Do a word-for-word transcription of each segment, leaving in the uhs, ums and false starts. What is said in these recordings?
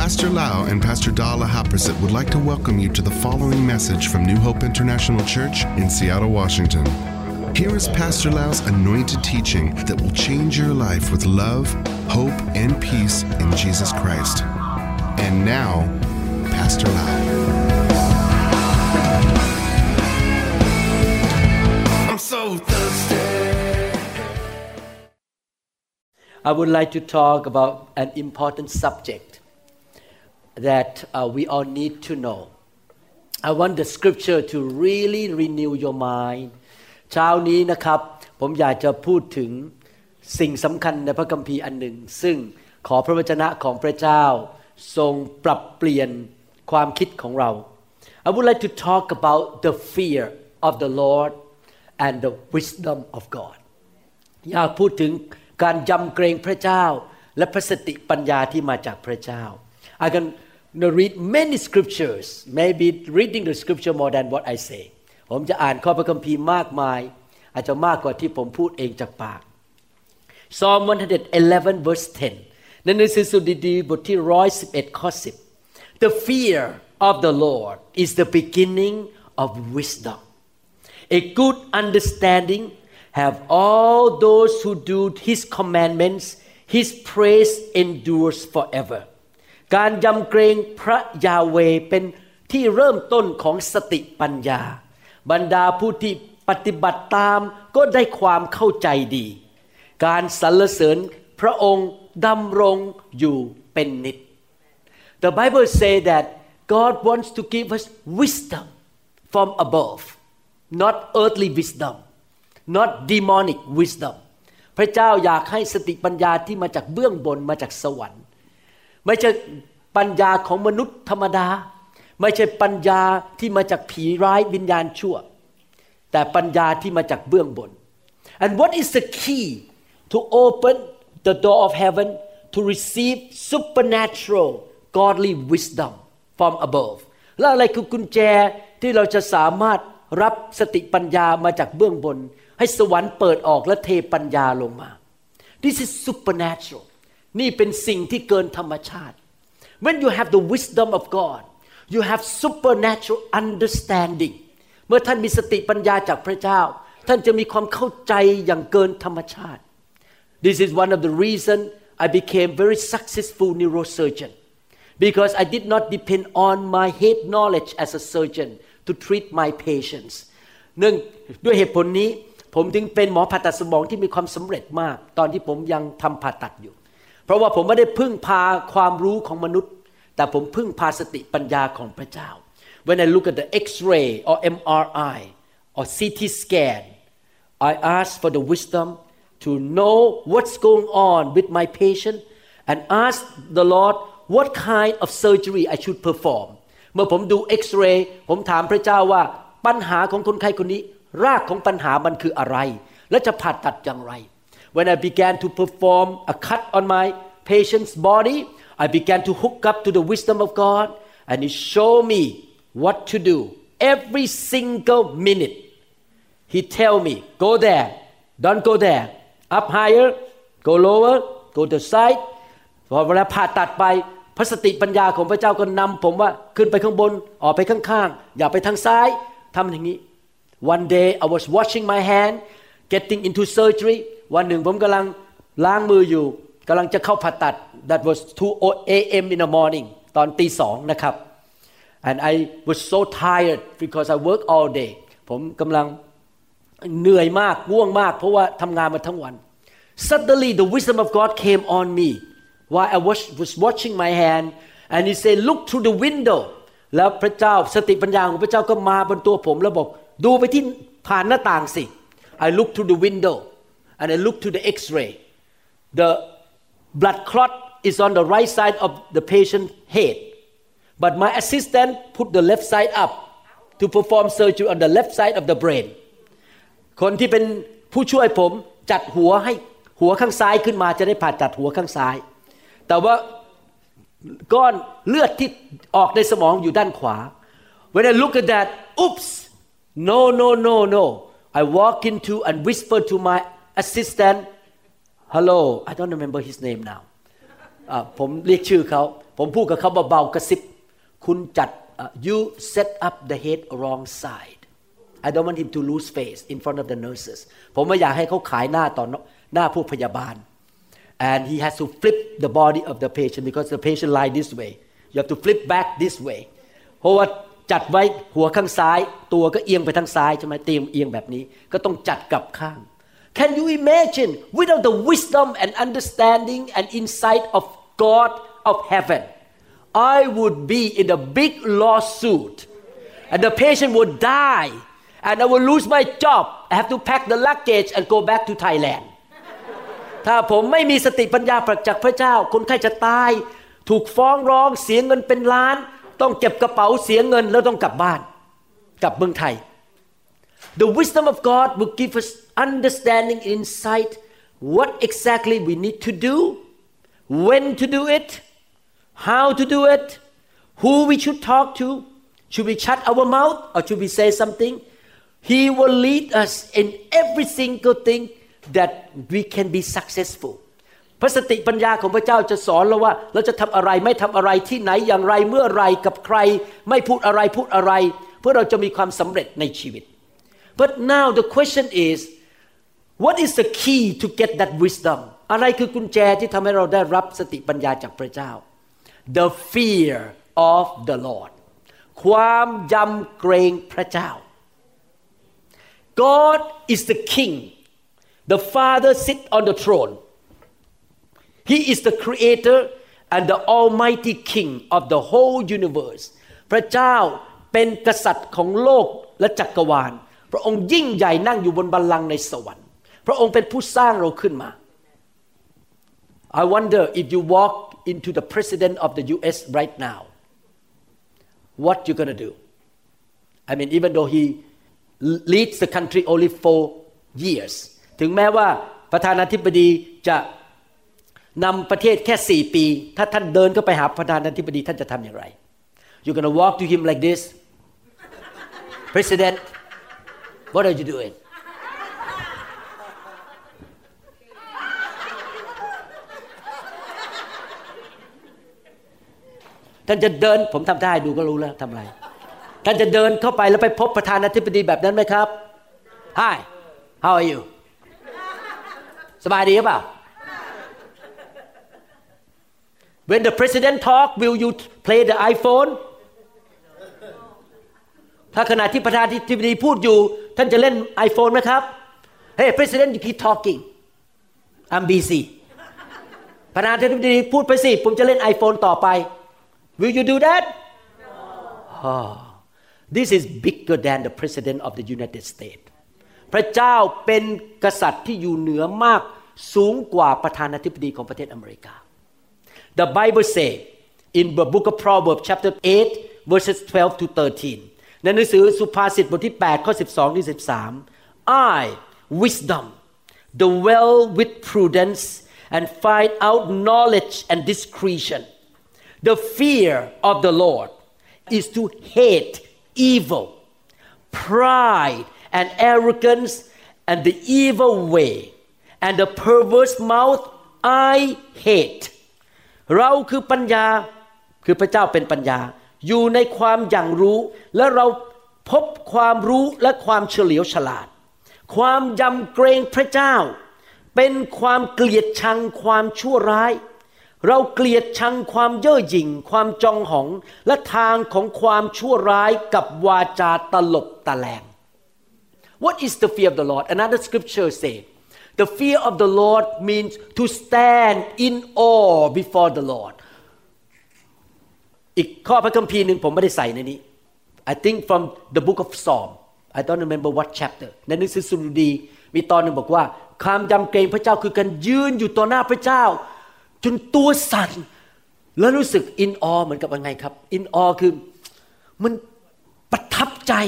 Pastor Lau and Pastor Dala Haprasit would like to welcome you to the following message from New Hope International Church in Seattle, Washington. Here is Pastor Lau's anointed teaching that will change your life with love, hope, and peace in Jesus Christ. And now, Pastor Lau. I'm so thirsty. I would like to talk about an important subject that uh, we all need to know. I want the scripture to really renew your mind. เช้านี้นะครับผมอยากจะพูดถึงสิ่งสำคัญในพระคัมภีร์อันหนึ่งซึ่งขอพระวจนะของพระเจ้าทรงปรับเปลี่ยนความคิดของเรา I would like to talk about the fear of the Lord and the wisdom of God อยากพูดถึงการยำเกรงพระเจ้าและพระสติปัญญาที่มาจากพระเจ้า I can read many scriptures maybe reading the scripture more than what I say ผมจะอ่านข้อพระคัมภีร์มากมายอาจจะมากกว่าที่ผมพูดเองจากปาก Psalm one eleven verse ten ในหนังสือสดุดีบทที่หนึ่งร้อยสิบเอ็ดข้อสิบ The fear of the Lord is the beginning of wisdom A good understanding have all those who do his commandments his praise endures forever การยำเกรงพระยาเวห์เป็นที่เริ่มต้นของสติปัญญาบรรดาผู้ที่ปฏิบัติตามก็ได้ความเข้าใจดีการสรรเสริญพระองค์ดำรงอยู่เป็นนิจ The Bible say that God wants to give us wisdom from above not earthly wisdom not demonic wisdom พระเจ้าอยากให้สติปัญญาที่มาจากเบื้องบนมาจากสวรรค์ไม่ใช่ปัญญาของมนุษย์ธรรมดาไม่ใช่ปัญญาที่มาจากผีร้ายวิญญาณชั่วแต่ปัญญาที่มาจากเบื้องบน And what is the key to open the door of heaven to receive supernatural godly wisdom from above แล้วอะไรคือกุญแจที่เราจะสามารถรับสติปัญญามาจากเบื้องบนให้สวรรค์เปิดออกและเทปัญญาลงมา This is supernatural นี่เป็นสิ่งที่เกินธรรมชาติ When you have the wisdom of God you have supernatural understanding เมื่อท่านมีสติปัญญาจากพระเจ้าท่านจะมีความเข้าใจอย่างเกินธรรมชาติ This is one of the reason I became very successful neurosurgeon because I did not depend on my head knowledge as a surgeon to treat my patients เนื่องด้วยเหตุผลนี้ผมจึงเป็นหมอผ่าตัดสมองที่มีความสำเร็จมากตอนที่ผมยังทำผ่าตัดอยู่เพราะว่าผมไม่ได้พึ่งพาความรู้ของมนุษย์แต่ผมพึ่งพาสติปัญญาของพระเจ้า When I look at the X-ray or M R I or C T scan I ask for the wisdom to know what's going on with my patient and ask the Lord what kind of surgery I should perform เมื่อผมดู X-ray ผมถามพระเจ้าว่าปัญหาของคนไข้คนนี้รากของปัญหามันคืออะไรและจะผ่าตัดอย่างไร When I began to perform a cut on my patient's body I began to hook up to the wisdom of God and He showed me what to do every single minute He tell me go there don't go there up higher go lower go to the side พอเวลาผ่าตัดไปพระสติปัญญาของพระเจ้าก็นำผมว่าขึ้นไปข้างบนออกไปข้างๆอย่าไปทางซ้ายทำอย่างนี้ One day I was washing my hand getting into surgery วันหนึ่งผมกำลังล้างมืออยู่กำลังจะเข้าผ่าตัด That was two a m in the morning ตอนตีสองนะครับ and I was so tired because I work all day ผมกำลังเหนื่อยมากง่วงมากเพราะว่าทำงานมาทั้งวัน Suddenly the wisdom of God came on me while I was, was washing my hand and He said look through the window แล้วพระเจ้าสติปัญญาของพระเจ้าก็มาบนตัวผมแล้วบอกดูไปที่ผ่านหน้าต่างสิ I looked through the window and I looked to the X-ray the blood clot is on the right side of the patient's head but my assistant put the left side up to perform surgery on the left side of the brain คนที่เป็นผู้ช่วยผมจัดหัวให้หัวข้างซ้ายขึ้นมาจะได้ผ่าตัดหัวข้างซ้ายแต่ว่าก้อนเลือดที่ออกในสมองอยู่ด้านขวา When I look at that oops no no no no I walk into and whisper to my assistant hello I don't remember his name now ผมเรียกชื่อเขาผมพูดกับเขาเบาๆกระซิบคุณจัด you set up the head wrong side I don't want him to lose face in front of the nurses ผมไม่อยากให้เขาขายหน้าต่อหน้าผู้พยาบาล and he has to flip the body of the patient because the patient lie this way you have to flip back this way เพราะว่าจัดไว้หัวข้างซ้ายตัวก็เอียงไปทางซ้ายใช่ไหมเตียงเอียงแบบนี้ก็ต้องจัดกลับข้าง Can you imagine without the wisdom and understanding and insight of God of heaven I would be in a big lawsuit and the patient would die and I will lose my job I have to pack the luggage and go back to Thailand ถ้าผมไม่มีสติปัญญาจากพระเจ้าคนไข้จะตายถูกฟ้องร้องเสียเงินเป็นล้านต้องเก็บกระเป๋าเสียเงินแล้วต้องกลับบ้านกลับเมืองไทย The wisdom of God will give us understanding insight what exactly we need to do when to do it how to do it who we should talk to should we shut our mouth or should we say something He will lead us in every single thing that we can be successful พระสติปัญญาของพระเจ้าจะสอนเราว่าเราจะทำอะไรไม่ทำอะไรที่ไหนอย่างไรเมื่อไรกับใครไม่พูดอะไรพูดอะไรเพื่อเราจะมีความสำเร็จในชีวิต But now the question is what is the key to get that wisdom อะไรคือกุญแจที่ทำให้เราได้รับสติปัญญาจากพระเจ้า The fear of the Lord ความยำเกรงพระเจ้า God is the king the Father sit on the throne He is the creator and the almighty king of the whole universe พระเจ้าเป็นกษัตริย์ของโลกและจักรวาลพระองค์ยิ่งใหญ่นั่งอยู่บนบัลลังก์ในสวรรค์พระองค์เป็นผู้สร้างเราขึ้นมา I wonder if you walk into the president of the ยู เอส right now what you gonna do I mean even though he leads the country only four years ถึงแม้ว่าประธานาธิบดีจะนำประเทศแค่สี่ปีถ้าท่านเดินเข้าไปหาประธานาธิบดีท่านจะทำอย่างไร You're gonna walk to him like this President what are you doing ท่านจะเดินผมทำได้ดูก็รู้แล้วทำอะไรท่านจะเดินเข้าไปแล้วไปพบประธานาธิบดีแบบนั้นไหมครับ Hi how are you สบายดีหรือเปล่า When the president talk will you play the iPhone ถ้าขณะที่ประธานาธิบดีพูดอยู่ท่านจะเล่น iPhone ไหมครับ Hey president you keep talking I'm busy ประธานาธิบดีพูดไปสิผมจะเล่น iPhone ต่อไป Will you do that No oh, This is bigger than the president of the United States พระเจ้าเป็นกษัตริย์ที่อยู่เหนือมากสูงกว่าประธานาธิบดีของประเทศอเมริกา The Bible say in the book of Proverbs chapter eight verses twelve to thirteen ในหนังสือสุภาษิตบทที่แปดข้อสิบสองถึงสิบสาม I wisdom dwell with prudence and find out knowledge and discretion The fear of the Lord is to hate evil pride and arrogance and the evil way and the perverse mouth I hate เราคือปัญญาคือพระเจ้าเป็นปัญญาอยู่ในความอย่างรู้และเราพบความรู้และความเฉลียวฉลาดความยำเกรงพระเจ้าเป็นความเกลียดชังความชั่วร้ายเราเกลียดชังความเย่อหยิ่งความจองหองและทางของความชั่วร้ายกับวาจาตลบตะแลง What is the fear of the Lord? Another scripture says The fear of the Lord means to stand in awe before the Lord อีกข้อพระคัมภีร์นึงผมไม่ได้ใส่ในนี้ I think from the book of Psalm I don't remember what chapter ในหนังสือสดุดีมีตอนนึงบอกว่าความยำเกรงพระเจ้าคือการยืนอยู่ต่อหน้าพระเจ้าจนตัวสั่นแล้วรู้สึก in awe เหมือนกับยังไงครับ in awe คือมันประทับใจ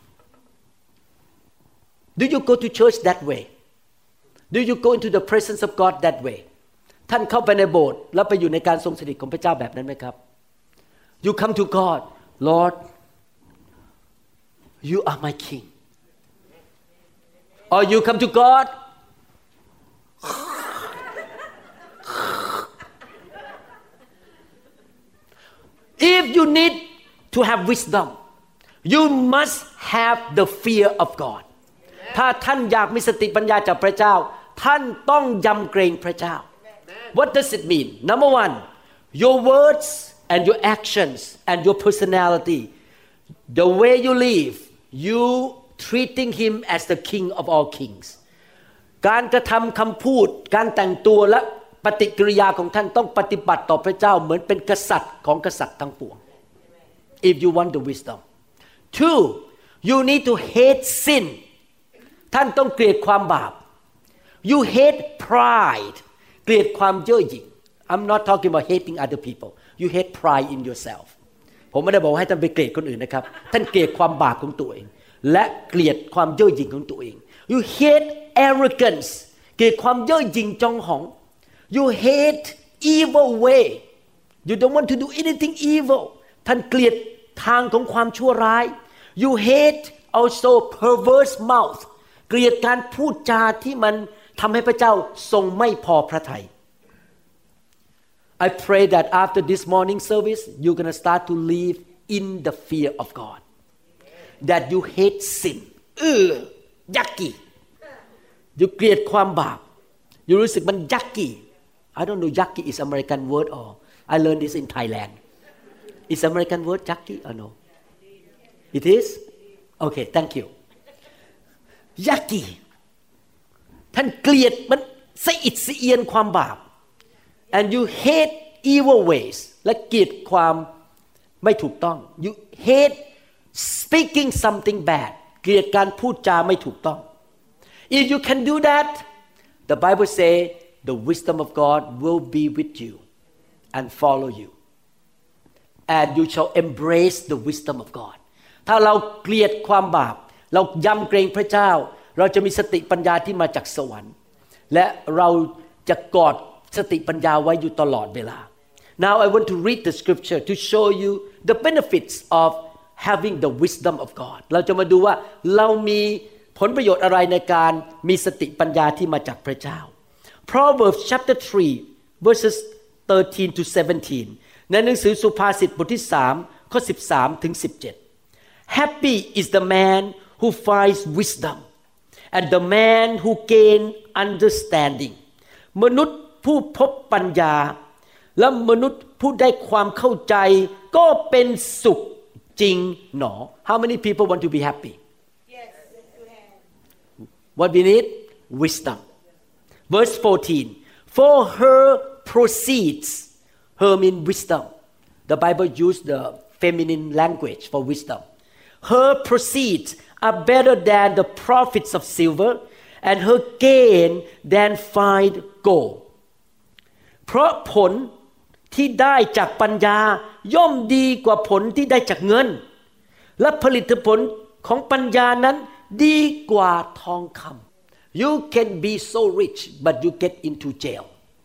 Do you go to church that way Do you go into the presence of God that way ท่านเข้าไปในโบสถ์แล้วไปอยู่ในการทรงสถิตของพระเจ้าแบบนั้นไหมครับ You come to God Lord you are my king or you come to God you need to have wisdom you must have the fear of God ถ้าท่านอยากมีสติปัญญาจากพระเจ้าท่านต้องยำเกรงพระเจ้า What does it mean? Number one, your words and your actions and your personality, the way you live, you treating him as the king of all kings. การกระทำคำพูดการแต่งตัวและปฏิกิริยาของท่านต้องปฏิบัติต่อพระเจ้าเหมือนเป็นกษัตริย์ของกษัตริย์ทั้งปวง If you want the wisdom. Two, you need to hate sin. ท่านต้องเกลียดความบาป You hate pride. เกลียดความเย่อหยิ่ง I'm not talking about hating other people. You hate pride in yourself. ผมไม่ได้บอกให้ท่านไปเกลียดคนอื่นนะครับท่านเกลียดความบาปของตัวเองและเกลียดความเย่อหยิ่งของตัวเอง You hate arrogance. เกลียดความเย่อหยิ่งจองหอง You hate evil way. You don't want to do anything evil. ท่านเกลียดทางของความชั่วร้าย You hate also perverse mouth. เกลียดการพูดจาที่มันทำให้พระเจ้าทรงไม่พอพระทัย I pray that after this morning service you're going to start to live in the fear of God. That you hate sin. เออยักกี้ You เกลียดความบาป You รู้สึกมันยักกี้ I don't know yucky is American word or I learned this in Thailand. Is American word yucky or no? It is? Okay, thank you. Yucky. ท่านเกลียดมันสะอิดสะเอียนความบาป And you hate evil ways และเกลียดความไม่ถูกต้อง You hate speaking something bad เกลียดการพูดจาไม่ถูกต้อง If you can do that, the Bible say the wisdom of God will be with you and follow you and you shall embrace the wisdom of God ถ้าเราเกลียดความบาปเรายำเกรงพระเจ้าเราจะมีสติปัญญาที่มาจากสวรรค์และเราจะกอดสติปัญญาไว้อยู่ตลอดเวลา Now I want to read the scripture to show you the benefits of having the wisdom of God เราจะมาดูว่าเรามีผลประโยชน์อะไรในการมีสติปัญญาที่มาจากพระเจ้าProverbs chapter three verses thirteen to seventeen ในหนังสือสุภาษิตบทที่สามข้อสิบสามถึงสิบเจ็ด Happy is the man who finds wisdom and the man who gain understanding มนุษย์ผู้พบปัญญาและมนุษย์ผู้ได้ความเข้าใจก็เป็นสุขจริงหนอ How many people want to be happy? Yes. What we need? Wisdom.Verse fourteen, for her proceeds, her mean wisdom. The Bible used the feminine language for wisdom. Her proceeds are better than the profits of silver, and her gain than fine gold. เพราะผลที่ได้จากปัญญาย่อมดีกว่าผลที่ได้จากเงิน และผลิตผลของปัญญานั้นดีกว่าทองคำYou can be so rich, but you get into jail.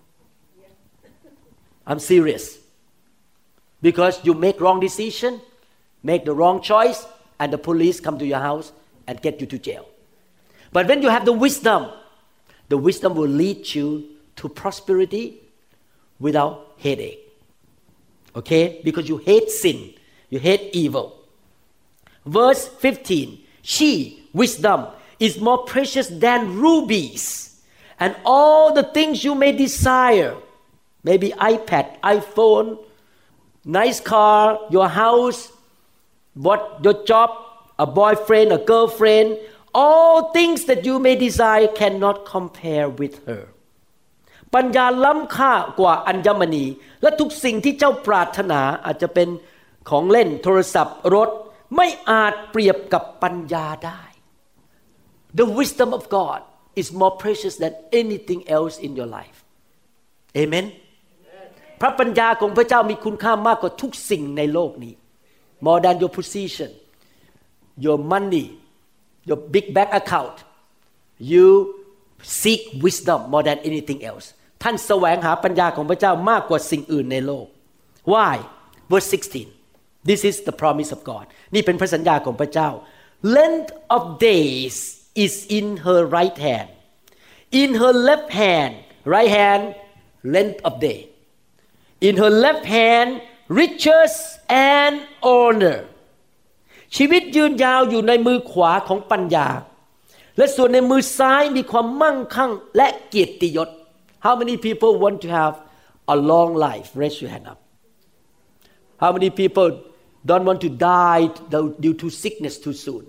I'm serious. Because you make wrong decision, make the wrong choice, and the police come to your house and get you to jail. But when you have the wisdom, the wisdom will lead you to prosperity without headache. Okay? Because you hate sin, you hate evil. Verse fifteen, she, wisdom,is more precious than rubies and all the things you may desire maybe iPad, iPhone, nice car, your house, what your job, a boyfriend, a girlfriend, all things that you may desire cannot compare with her ปัญญาล้ำค่ากว่าอัญมณีและทุกสิ่งที่เจ้าปรารถนาอาจจะเป็นของเล่นโทรศัพท์รถไม่อาจเปรียบกับปัญญาได้The wisdom of God is more precious than anything else in your life. Amen. พระปัญญาของพระเจ้ามีคุณค่ามากกว่าทุกสิ่งในโลกนี้ More than your position, your money, your big bank account. You seek wisdom more than anything else. ท่านแสวงหาปัญญาของพระเจ้ามากกว่าสิ่งอื่นในโลก Why? Verse sixteen. This is the promise of God. นี่เป็นพระสัญญาของพระเจ้า Length of days.is in her right hand. In her left hand, right hand, length of day. In her left hand, riches and honor ชีวิตยืนยาวอยู่ในมือขวาของปัญญาและส่วนในมือซ้ายมีความมั่งคั่งและเกียรติยศ How many people want to have a long life? Raise your hand up. How many people don't want to die due to sickness too soon?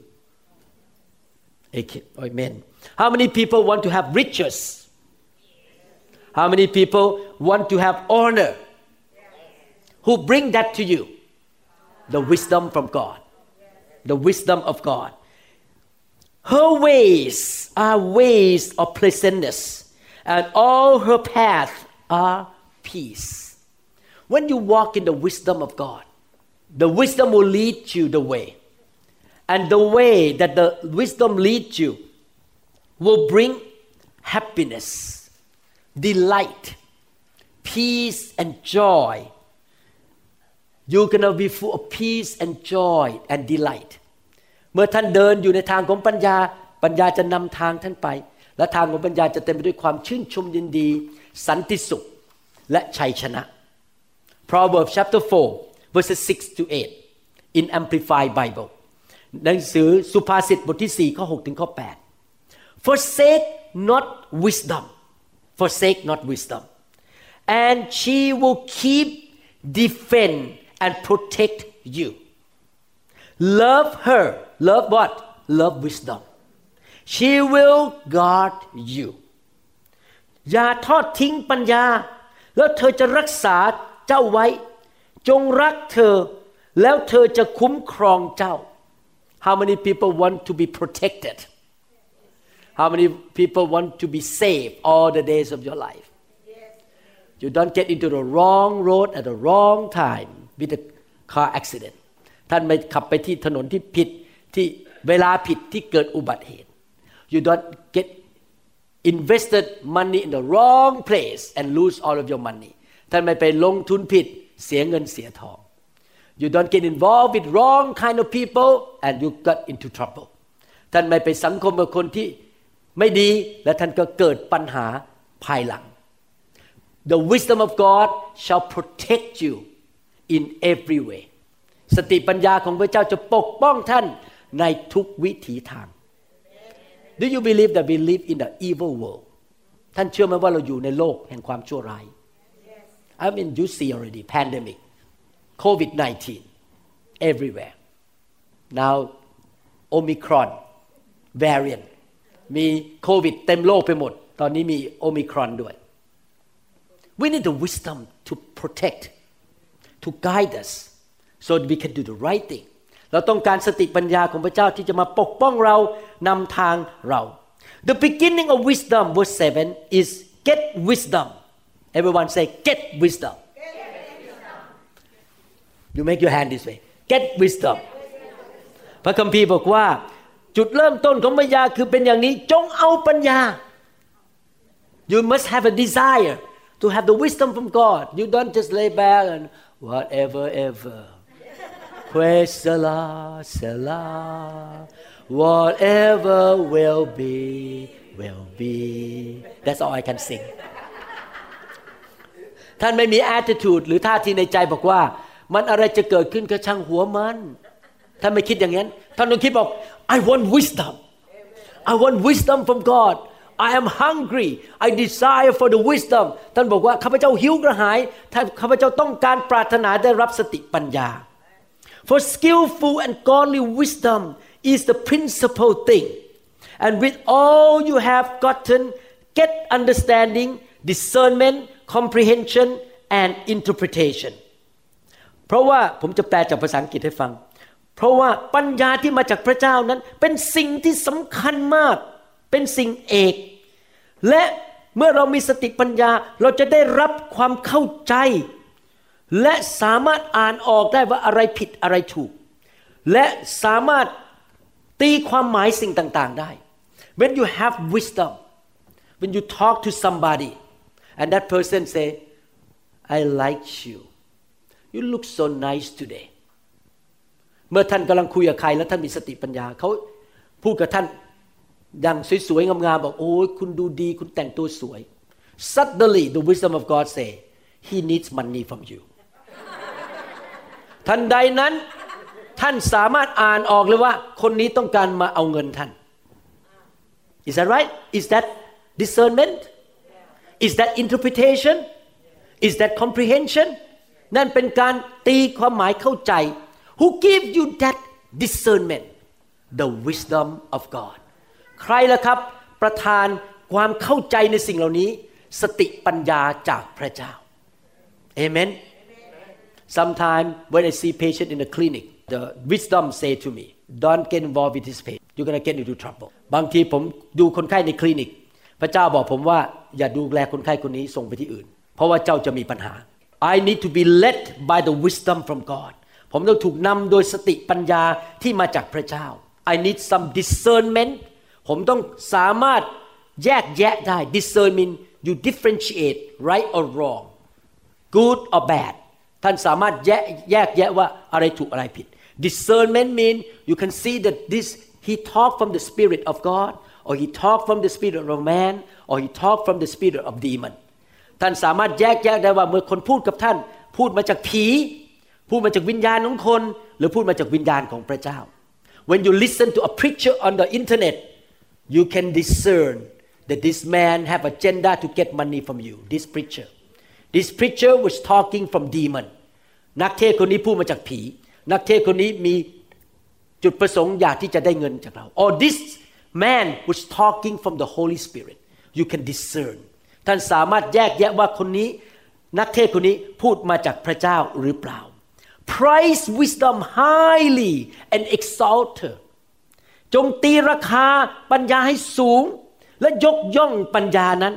Amen. How many people want to have riches? How many people want to have honor? Who bring that to you? The wisdom from God. The wisdom of God. Her ways are ways of pleasantness, and all her paths are peace. When you walk in the wisdom of God, the wisdom will lead you the way. And the way that the wisdom leads you will bring happiness, delight, peace, and joy. You're going to be full of peace and joy and delight. เมื่อท่านเดินอยู่ในทางของปัญญาปัญญาจะนำทางท่านไปและทางของปัญญาจะเต็มไปด้วยความชื่นชมยินดีสันติสุขและชัยชนะ Proverbs chapter four verses six to eight in Amplified Bible หนังสือสุภาษิตบทที่สี่ข้อหกถึงข้อแปด Forsake not wisdom forsake not wisdom and she will keep defend and protect you love her love what love wisdom she will guard you อย่าทอดทิ้งปัญญาแล้วเธอจะรักษาเจ้าไว้จงรักเธอแล้วเธอจะคุ้มครองเจ้า How many people want to be protected How many people want to be safe all the days of your life You don't get into the wrong road at the wrong time with a car accident ท่านไม่ขับไปที่ถนนที่ผิดที่เวลาผิดที่เกิดอุบัติเหตุ You don't get invested money in the wrong place and lose all of your money ท่านไม่ไปลงทุนผิดเสียเงินเสียทอง You don't get involved with wrong kind of people and you got into trouble ท่านไม่ไปสังคมกับคนที่ไม่ดีและท่านก็เกิดปัญหาภายหลัง The wisdom of God shall protect you in every way สติปัญญาของพระเจ้าจะปกป้องท่านในทุกวิถีทาง Do you believe that we live in the evil world ท่านเชื่อไหมว่าเราอยู่ในโลกแห่งความชั่วร้าย I mean you see already pandemic covid nineteen everywhere now Omicron variant มีโควิดเต็มโลกไปหมดตอนนี้มีโอมิครอนด้วย We need the wisdom to protect to guide us so that we can do the right thing เราต้องการสติปัญญาของพระเจ้าที่จะมาปกป้องเรานำทางเรา The beginning of wisdom verse seven is get wisdom Everyone say get wisdom You make your hand this way get wisdom พระคัมภีร์บอกว่าจุดเริ่มต้นของปัญญาคือเป็นอย่างนี้จงเอาปัญญา You must have a desire to have the wisdom from God You don't just lay back and whatever ever Praise the Lord Selah Whatever will be will be That's all I can sing ท่านไม่มี attitude หรือท่าทีในใจบอกว่ามันอะไรจะเกิดขึ้นก็ช่างหัวมันท่านไม่คิดอย่างนั้นท่านต้องคิดบอกI want wisdom I want wisdom from God I am hungry I desire for the wisdom ท่านบอกว่าข้าพเจ้าหิวกระหายท่านข้าพเจ้าต้องการปรารถนาได้รับสติปัญญา For skillful and godly wisdom is the principal thing and with all you have gotten get understanding discernment comprehension and interpretation เพราะว่าผมจะแปลจากภาษาอังกฤษให้ฟังเพราะว่าปัญญาที่มาจากพระเจ้านั้นเป็นสิ่งที่สำคัญมากเป็นสิ่งเอกและเมื่อเรามีสติปัญญาเราจะได้รับความเข้าใจและสามารถอ่านออกได้ว่าอะไรผิดอะไรถูกและสามารถตีความหมายสิ่งต่างๆได้ When you have wisdom when you talk to somebody and that person say I like you you look so nice todayเมื่อท่านกำลังคุยกับใครแล้วท่านมีสติปัญญาเขาพูดกับท่านดังสวยๆงามๆบอกโอ้ยคุณดูดีคุณแต่งตัวสวย Suddenly the wisdom of God say he needs money from you ทันใดนั้นท่านสามารถอ่านออกเลยว่าคนนี้ต้องการมาเอาเงินท่าน Is that right? Is that discernment? Is that interpretation? Is that comprehension? นั่นเป็นการตีความหมายเข้าใจ Who gave you that discernment? The wisdom of God. ใครล่ะครับประทานความเข้าใจในสิ่งเหล่านี้สติปัญญาจากพระเจ้า Amen. Sometimes when I see patient in the clinic, the wisdom say to me, "Don't get involved with this patient. You're gonna get into trouble." บางทีผมดูคนไข้ในคลินิกพระเจ้าบอกผมว่าอย่าดูแลคนไข้คนนี้ส่งไปที่อื่นเพราะว่าเจ้าจะมีปัญหา I need to be led by the wisdom from God. ผมต้องถูกนำโดยสติปัญญาที่มาจากพระเจ้า I need some discernment. ผมต้องสามารถแยกแยะได้ discernment you differentiate right or wrong good or bad ท่านสามารถแยกแยกแยะว่าอะไรถูกอะไรผิด discernment mean you can see that this he talk from the spirit of God or he talk from the spirit of man or he talk from the spirit of demon ท่านสามารถแยกแยะได้ว่าเมื่อคนพูดกับท่านพูดมาจากผีพูดมาจากวิญญาณของคนหรือพูดมาจากวิญญาณของพระเจ้า when you listen to a preacher on the internet you can discern that this man have agenda to get money from you this preacher this preacher was talking from demon นักเทศน์คนนี้พูดมาจากผีนักเทศน์คนนี้มีจุดประสงค์อยากที่จะได้เงินจากเรา or this man was talking from the Holy Spirit you can discern ท่านสามารถแยกแยะว่าคนนี้นักเทศน์คนนี้พูดมาจากพระเจ้าหรือเปล่า Price wisdom highly and exalt her จงตีราคาปัญญาให้สูงและยกย่องปัญญานั้น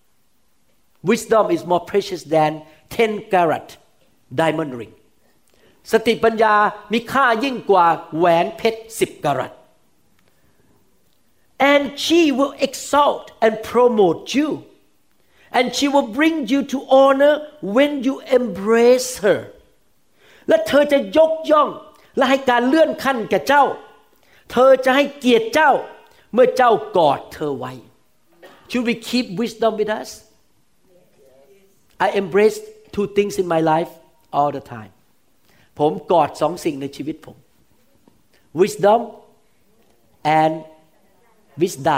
Wisdom is more precious than ten carat diamond ring สติปัญญามีค่ายิ่งกว่าแหวนเพชรสิบกะรัต and she will exalt and promote you and she will bring you to honor when you embrace her และเธอจะยกย่องและให้การเลื่อนขั้นแก่เจ้าเธอจะให้เกียรติเจ้าเมื่อเจ้ากอดเธอไว้ Should we keep wisdom with us? I embrace two things in my life all the time ผมกอดสองสิ่งในชีวิตผม wisdom and wisda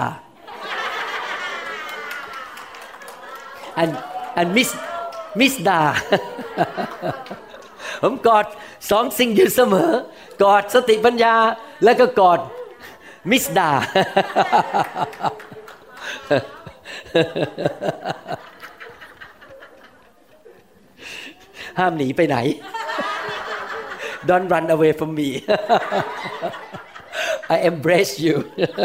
and and miss misda ผมกอดสองสิ่งอยู่เสมอกอดสติปัญญาแล้วก็กอด misda ห้ามหนีไปไหน Don't run away from me I embrace you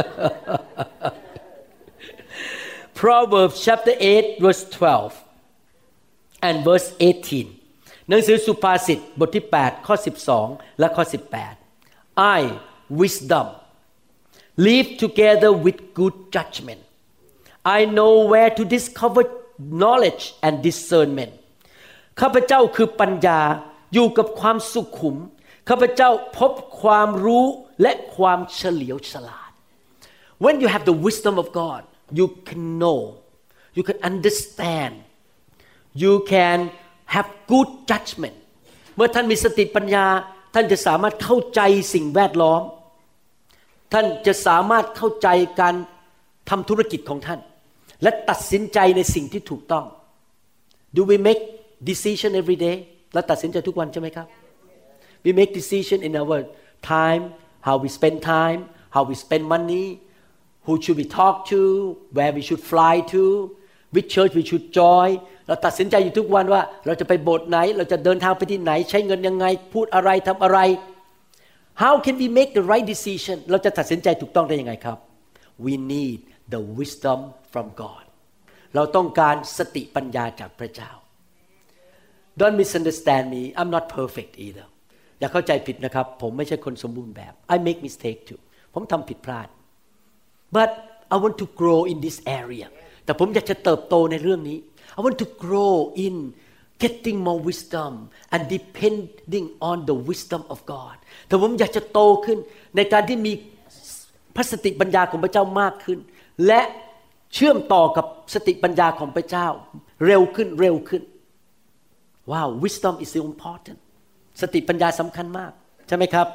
Proverbs chapter eight verse twelve and verse eighteen หนังสือสุภาษิตบทที่แปดข้อสิบสองและข้อสิบแปด I wisdom live together with good judgment I know where to discover knowledge and discernment ข้าพเจ้าคือปัญญาอยู่กับความสุขุมข้าพเจ้าพบความรู้และความเฉลียวฉลาด When you have the wisdom of God you can know you can understand you can have good judgment เมื่อท่านมีสติปัญญาท่านจะสามารถเข้าใจสิ่งแวดล้อมท่านจะสามารถเข้าใจการทำธุรกิจของท่านและตัดสินใจในสิ่งที่ถูกต้อง Do we make decision every day เราตัดสินใจทุกวันใช่ไหมครับ We make decision in our time how we spend time how we spend money who should we talk to where we should fly to which church we should join เราตัดสินใจอยู่ทุกวันว่าเราจะไปโบสถ์ไหนเราจะเดินทางไปที่ไหนใช้เงินยังไงพูดอะไรทำอะไร How can we make the right decision เราจะตัดสินใจถูกต้องได้ยังไงครับ We need the wisdom from God เราต้องการสติปัญญาจากพระเจ้า Don't misunderstand me I'm not perfect either อย่าเข้าใจผิดนะครับผมไม่ใช่คนสมบูรณ์แบบ I make mistake too ผมทำผิดพลาด But I want to grow in this area แต่ผมอยากจะเติบโตในเรื่องนี้ I want to grow in getting more wisdom and depending on the wisdom of God แต่ผมอยากจะโตขึ้นในการที่มีพระสติปัญญาของพระเจ้ามากขึ้นและเชื่อมต่อกับสติปัญญาของพระเจ้าเร็วขึ้นเร็วขึ้นว้าว wisdom is so important สติปัญญาสำคัญมากใช่ไหมครับ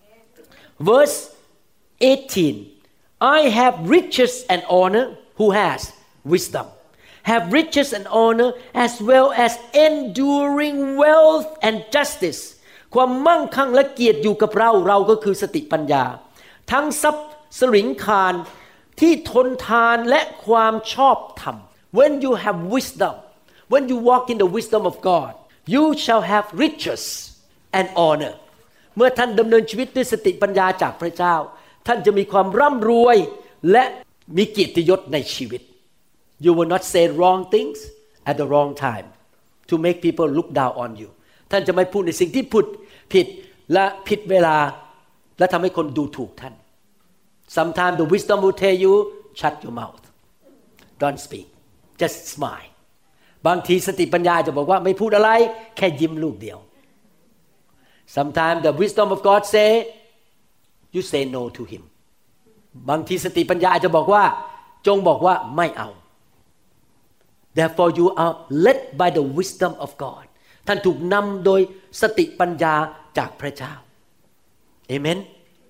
verse eighteen I have riches and honor who has wisdom have riches and honor as well as enduring wealth and justice ความมั่งคั่งและเกียรติอยู่กับเราเราก็คือสติปัญญาทั้งทรัพย์สริงคารที่ทนทานและความชอบธรรม when you have wisdom when you walk in the wisdom of God you shall have riches and honor เมื่อท่านดำเนินชีวิตด้วยสติปัญญาจากพระเจ้าท่านจะมีความร่ำรวยและมีเกียรติยศในชีวิต You will not say wrong things at the wrong time to make people look down on you ท่านจะไม่พูดในสิ่งที่ผิดผิดและผิดเวลาและทำให้คนดูถูกท่าน Sometimes the wisdom will tell you shut your mouth don't speak just smile บางทีสติปัญญาจะบอกว่าไม่พูดอะไรแค่ยิ้มลูกเดียว Sometimes the wisdom of God say you say no to him บางทีสติปัญญาจะบอกว่าจงบอกว่าไม่เอา Therefore you are led by the wisdom of God ท่านถูกนำโดยสติปัญญาจากพระเจ้า Amen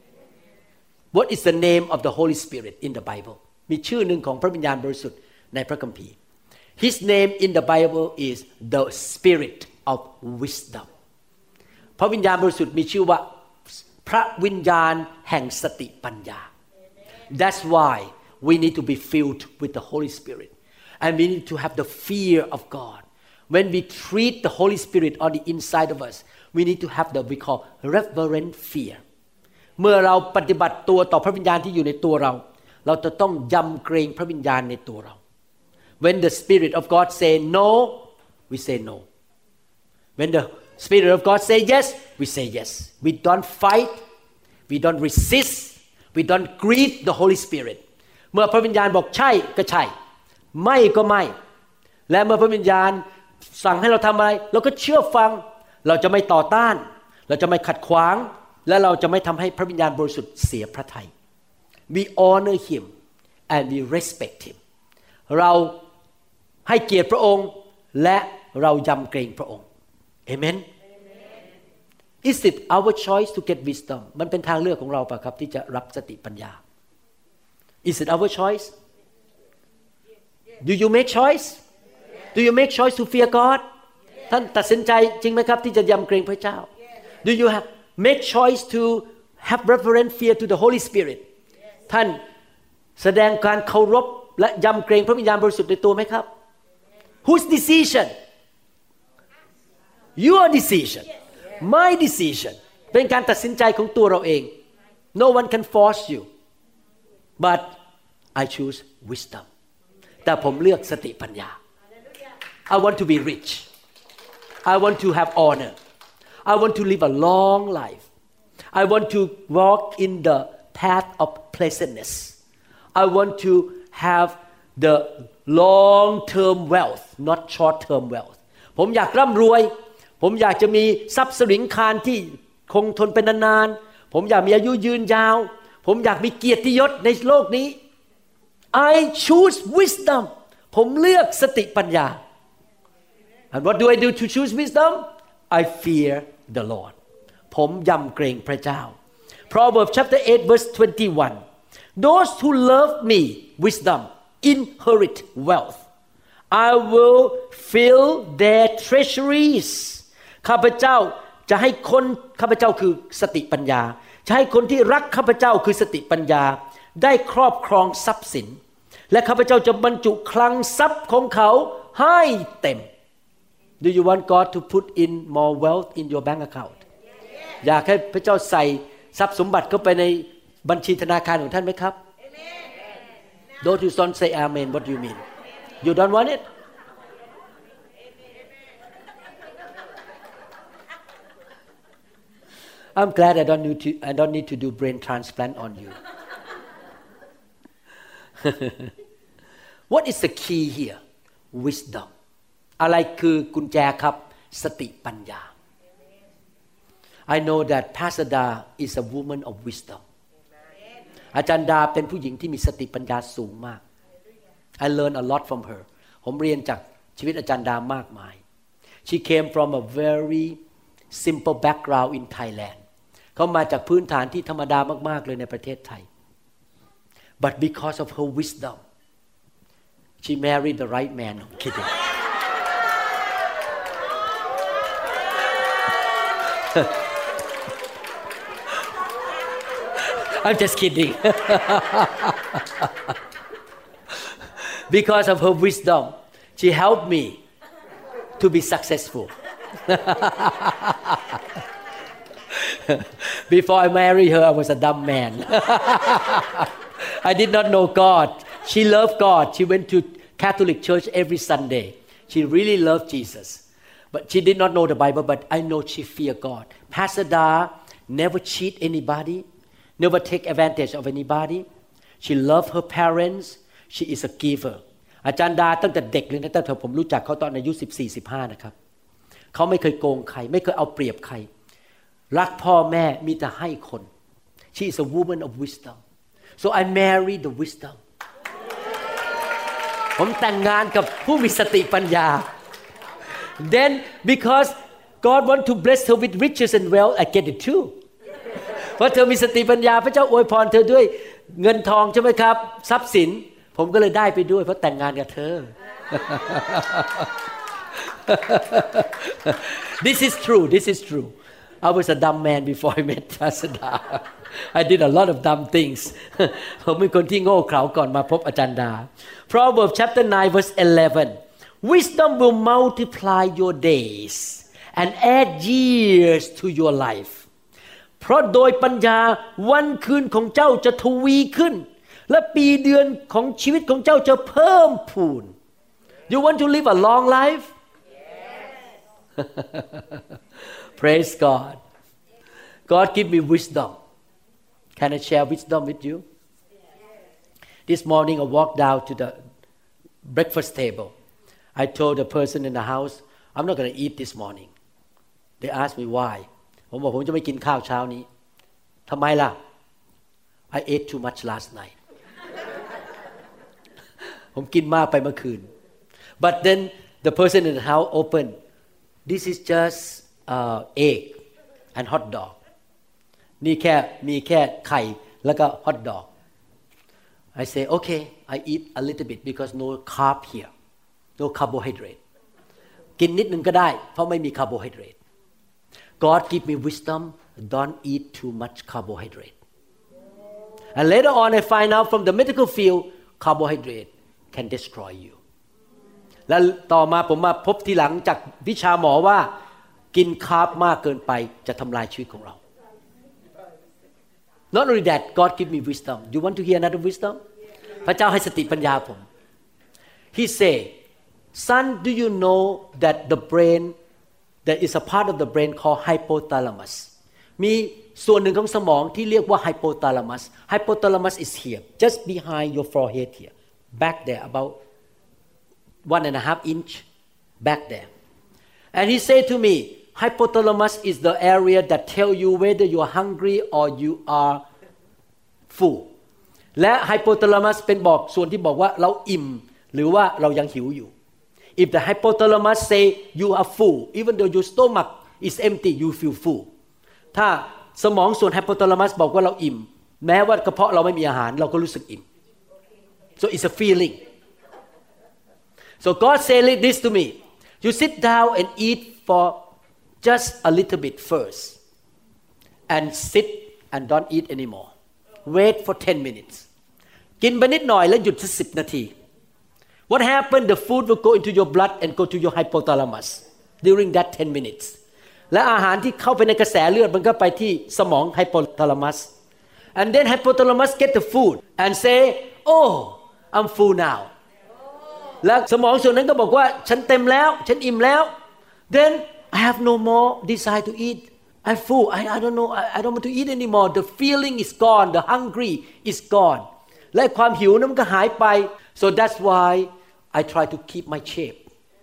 What is the name of the Holy Spirit in the Bible มีชื่อหนึ่งของพระวิญญาณบริสุทธิ์ในพระคัมภีร์ His name in the Bible is the Spirit of Wisdom พระวิญญาณบริสุทธิ์มีชื่อว่าพระวิญญาณแห่งสติปัญญา That's why we need to be filled with the Holy Spirit and we need to have the fear of God when we treat the Holy Spirit on the inside of us we need to have the we call reverent fear เมื่อเราปฏิบัติตัวต่อพระวิญญาณที่อยู่ในตัวเราเราจะต้องยำเกรงพระวิญญาณในตัวเรา When the Spirit of God say no we say no When the Spirit of God say yes we say yes we don't fight we don't resist we don't grieve the Holy Spirit เมื่อพระวิญญาณบอกใช่ก็ใช่ไม่ก็ไม่และเมื่อพระวิญญาณสั่งให้เราทำอะไรเราก็เชื่อฟังเราจะไม่ต่อต้านเราจะไม่ขัดขวางและเราจะไม่ทำให้พระวิญญาณบริสุทธิ์เสียพระทัย we honor him and we respect him เราให้เกียรติพระองค์และเรายำเกรงพระองค์ Amen Is it our choice to get wisdom มันเป็นทางเลือกของเราป่ะครับที่จะรับสติปัญญา Is it our choice Do you make choice Do you make choice to fear God ท่านตัดสินใจจริงไหมครับที่จะยำเกรงพระเจ้า Do you have make choice to have reverent fear to the Holy Spirit ท่านแสดงการเคารพและยำเกรงพระวิญญาณบริสุทธิ์ในตัวไหมครับ Whose decision Your decision My decision เป็นการตัดสินใจของตัวเราเอง No one can force you but I choose wisdom แต่ผมเลือกสติปัญญา I want to be rich I want to have honor I want to live a long life I want to walk in the path of pleasantness I want to have the long term wealth not short term wealth ผมอยากร่ำรวยผมอยากจะมีทรัพย์สริงคารที่คงทนเป็นนานๆผมอยากมีอายุยืนยาวผมอยากมีเกียรติยศในโลกนี้ I choose wisdom ผมเลือกสติปัญญา And what do I do to choose wisdom I fear the Lord ผมยำเกรงพระเจ้า Proverbs chapter eight verse twenty-one Those who love me wisdom inherit wealth I will fill their treasuries ข้าพเจ้าจะให้คนข้าพเจ้าคือสติปัญญาจะให้คนที่รักข้าพเจ้าคือสติปัญญาได้ครอบครองทรัพย์สินและข้าพเจ้าจะบรรจุคลังทรัพย์ของเขาให้เต็ม Do you want God to put in more wealth in your bank account อยากให้พระเจ้าใส่ทรัพย์สมบัติเข้าไปในบัญชีธนาคารของท่านไหมครับ Don't you don't say amen what do you mean You don't want it I'm glad I don't need to I don't need to do brain transplant on you What is the key here wisdom อะไรคือกุญแจครับสติปัญญา I know that Pastor Da is a woman of wisdom อาจารย์ดาเป็นผู้หญิงที่มีสติปัญญาสูงมาก I learned a lot from her ผมเรียนจากชีวิตอาจารย์ดามากมาย She came from a very simple background in Thailand เขามาจากพื้นฐานที่ธรรมดามากๆเลยในประเทศไทย but because of her wisdom she married the right man I'm kidding I'm just kidding because of her wisdom she helped me to be successful before I married her I was a dumb man I did not know God she loved God she went to Catholic church every Sunday she really loved Jesus but she did not know the Bible but I know she feared God Pastor Da never cheat anybody never take advantage of anybody she loved her parents she is a giver อาจารย์ดาตั้งแต่เด็กเลยนะตั้งแต่ผมรู้จักเขาตอนอายุสิบสี่ สิบห้านะครับเขาไม่เคยโกงใครไม่เคยเอาเปรียบใครรักพ่อแม่มีแต่ให้คน she is a woman of wisdom so I married the wisdom ผมแต่งงานกับผู้มีสติปัญญา then because God want to bless her with riches and wealth I get it too เพราะเธอมีสติปัญญาพระเจ้าอวยพรเธอด้วยเงินทองใช่ไหมครับทรัพย์สินผมก็เลยได้ไปด้วยเพราะแต่งงานกับเธอ This is true this is true I was a dumb man before I met Pastor Da I did a lot of dumb things ผมเป็นคนที่โง่เขลาก่อนมาพบอาจารย์ดา Proverbs chapter nine verse eleven Wisdom will multiply your days and add years to your life เพราะโดยปัญญาวันคืนของเจ้าจะทวีขึ้นและปีเดือนของชีวิตของเจ้าจะเพิ่มพูน You want to live a long life? Yes. Praise God. God give me wisdom. Can I share wisdom with you? This morning I walked down to the breakfast table. I told the person in the house, I'm not going to eat this morning. They asked me why. ผมบอกผมจะไม่กินข้าวเช้านี้ทำไมล่ะ I ate too much last night. ผมกินมากไปเมื่อคืน But then the person in the house opened. This is just uh, egg and hot dog. นี่แค่มีแค่ไข่แล้วก็ hot dog. I say okay, I eat a little bit because no carb here, no carbohydrate. กินนิดนึงก็ได้เพราะไม่มี carbohydrate. God give me wisdom. Don't eat too much carbohydrate. And later on, I find out from the medical field, carbohydrate can destroy you. แล้วต่อมาผมมาพบทีหลังจากวิชาหมอว่ากินคาร์บมากเกินไปจะทำลายชีวิตของเรา Not only that, God give me wisdom. You want to hear another wisdom? พระเจ้าให้สติปัญญาผม He say, son, do you know that the brain, there is a part of the brain called hypothalamus. มีส่วนหนึ่งของสมองที่เรียกว่า hypothalamus. Hypothalamus is here, just behind your forehead here, back there, about one and a half inch back there. And he said to me, hypothalamus is the area that tell you whether you are hungry or you are full. และ hypothalamus เป็นบอกส่วนที่บอกว่าเราอิ่มหรือว่าเรายังหิวอยู่ If the hypothalamus say you are full, even though your stomach is empty, you feel full. ถ้าสมองส่วน hypothalamus บอกว่าเราอิ่มแม้ว่ากระเพาะเราไม่มีอาหารเราก็รู้สึกอิ่ม So it's a feeling. So God said this to me. You sit down and eat for just a little bit first. And sit and don't eat anymore. Wait for ten minutes. กินไปนิดหน่อยแล้วหยุดสักสิบนาที What happened? The food will go into your blood and go to your hypothalamus during that ten minutes. และอาหารที่เข้าไปในกระแสเลือดมันก็ไปที่สมอง hypothalamus. And then hypothalamus get the food and say, "Oh, I'm full now." และสมองส่วนนั้นก็บอกว่าฉันเต็มแล้วฉันอิ่มแล้ว Then I have no more desire to eat. I'm full. I, I don't know. I, I don't want to eat anymore. The feeling is gone. The hungry is gone. และความหิวนั้นมันก็หายไป So that's why I try to keep my shape.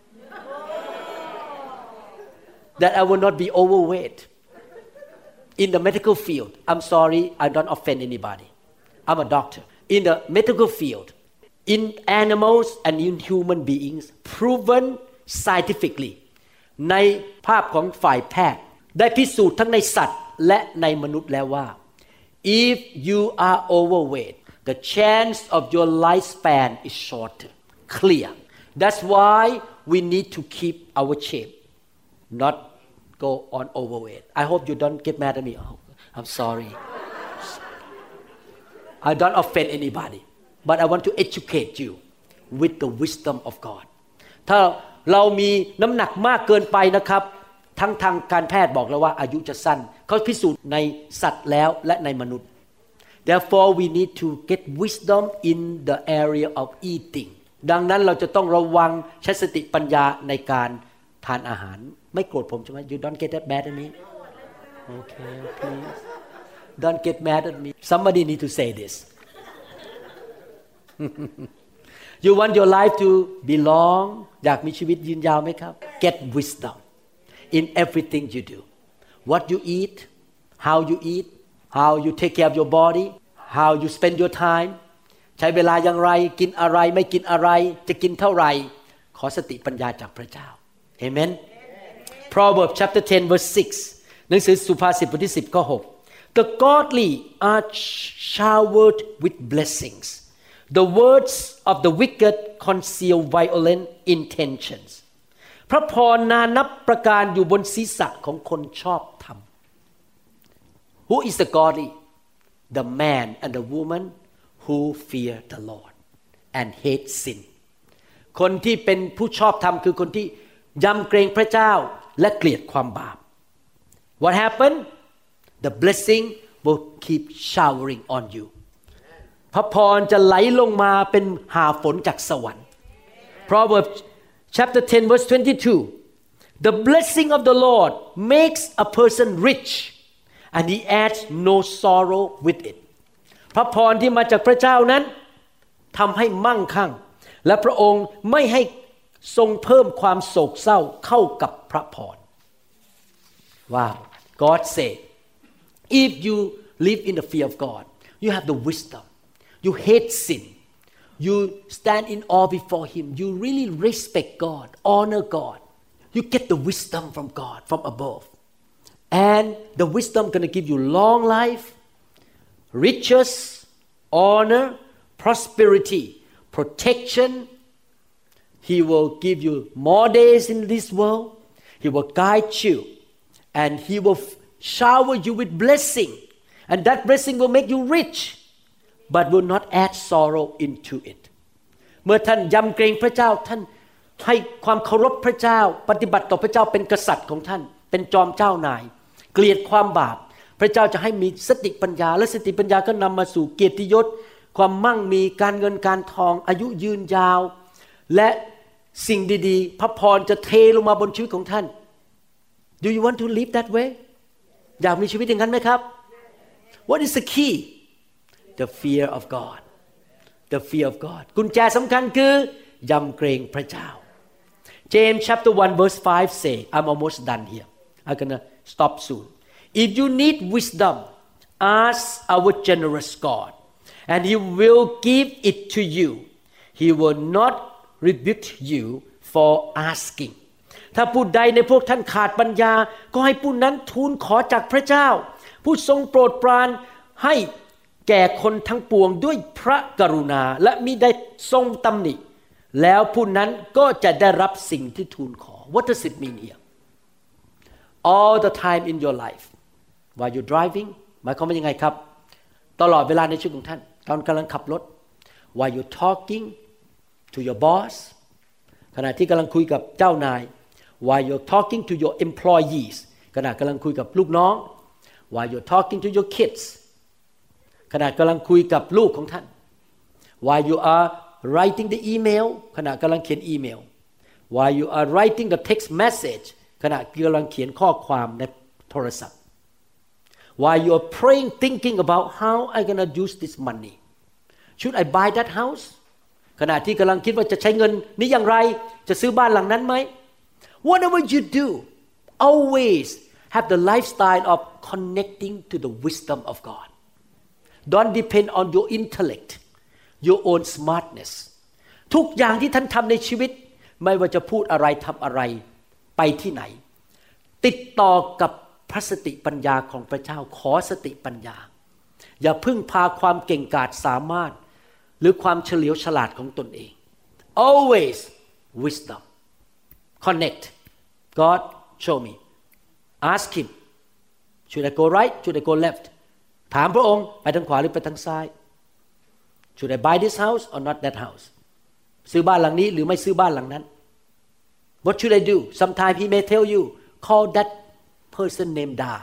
That I will not be overweight. In the medical field, I'm sorry, I don't offend anybody. I'm a doctor. In the medical field, in animals and in human beings, proven scientifically, ในภาพของฝ่ายแพทย์ได้พิสูจน์ทั้งในสัตว์และในมนุษย์แล้วว่า if you are overweight the chance of your lifespan is shorter clear that's why we need to keep our shape not go on overweight I hope you don't get mad at me oh, I'm sorry I don't offend anybody but I want to educate you with the wisdom of God ถ้าเรามีน้ำหนักมากเกินไปนะครับทั้งทางการแพทย์บอกแล้วว่าอายุจะสั้นเขาพิสูจน์ในสัตว์แล้วและในมนุษย์ Therefore we need to get wisdom in the area of eating ดังนั้นเราจะต้องระวังใช้สติปัญญาในการทานอาหารไม่โกรธผมใช่ไหม You don't get that mad at me Okay please Don't get mad at me Somebody need to say this You want your life to be long อยากมีชีวิตยืนยาวไหมครับ Get wisdom in everything you do what you eat how you eat how you take care of your body how you spend your time ใช้เวลาอย่างไรกินอะไรไม่กินอะไรจะกินเท่าไหร่ขอสติปัญญาจากพระเจ้า Amen Proverbs chapter ten verse six หนังสือสุภาษิตบทที่สิบข้อหก The godly are showered with blessings The words of the wicked conceal violent intentionsพระพรนานับประการอยู่บนศีรษะของคนชอบธรรม Who is the godly? The man and the woman who fear the Lord and hate sin คนที่เป็นผู้ชอบธรรมคือคนที่ยำเกรงพระเจ้าและเกลียดความบาป What happened? The blessing will keep showering on you พระพรจะไหลลงมาเป็นหาฝนจากสวรรค์ Proverbs chapter ten verse twenty-two The blessing of the Lord makes a person rich and he adds no sorrow with it พระพรที่มาจากพระเจ้านั้นทำให้มั่งคั่งและพระองค์ไม่ให้ทรงเพิ่มความโศกเศร้าเข้ากับพระพร Wow God said if you live in the fear of God you have the wisdom you hate sin you stand in awe before him you really respect God honor God you get the wisdom from God from above and the wisdom going to give you long life riches honor prosperity protection he will give you more days in this world he will guide you and he will shower you with blessing and that blessing will make you rich but will not add sorrow into it เมื่อท่านยำเกรงพระเจ้าท่านให้ความเคารพพระเจ้าปฏิบัติต่อพระเจ้าเป็นกษัตริย์ของท่านเป็นจอมเจ้านายเกลียดความบาปพระเจ้าจะให้มีสติปัญญาและสติปัญญาก็นำมาสู่เกียรติยศความมั่งมีการเงินการทองอายุยืนยาวและสิ่งดีๆพระพรจะเทลงมาบนชีวิตของท่าน Do you want to live that way อยากมีชีวิตอย่างนั้นไหมครับ What is the key The fear of God The fear of God กุญแจสำคัญคือยำเกรงพระเจ้า James chapter one verse five say I'm almost done here I'm gonna stop soon If you need wisdom ask our generous God and he will give it to you he will not rebuke you for asking ถ้าผู้ใดในพวกท่านขาดปัญญาก็ให้ผู้นั้นทูลขอจากพระเจ้าผู้ทรงโปรดปรานให้แก่คนทั้งปวงด้วยพระกรุณาและมิได้ทรงตำหนิแล้วผู้นั้นก็จะได้รับสิ่งที่ทูลขอ What does it mean here All the time in your life while you're driving หมายความว่ายังไงครับตลอดเวลาในชีวิตของท่านตอนกำลังขับรถ while you're talking to your boss ขณะที่กำลังคุยกับเจ้านาย while you're talking to your employees ขณะกำลังคุยกับลูกน้อง while you're talking to your kids ขณะกำลังคุยกับลูกของท่าน while you are writing the email ขณะกำลังเขียนอีเมล while you are writing the text message ขณะกำลังเขียนข้อความในโทรศัพท์ while you are praying thinking about how I gonna use this money should I buy that house ขณะที่กำลังคิดว่าจะใช้เงินนี้อย่างไรจะซื้อบ้านหลังนั้นไหม whatever you do always have the lifestyle of connecting to the wisdom of God don't depend on your intellect your own smartness ทุกอย่างที่ท่านทำในชีวิตไม่ว่าจะพูดอะไรทำอะไรไปที่ไหนติดต่อกับพระสติปัญญาของพระเจ้าขอสติปัญญาอย่าพึ่งพาความเก่งกาจสามารถหรือความเฉลียวฉลาดของตนเอง always wisdom connect God show me ask him should I go right should I go left ถามพระองค์ไปทางขวาหรือไปทางซ้าย should I buy this house or not that house ซื้อบ้านหลังนี้หรือไม่ซื้อบ้านหลังนั้น what should I do sometimes he may tell you call that person named Da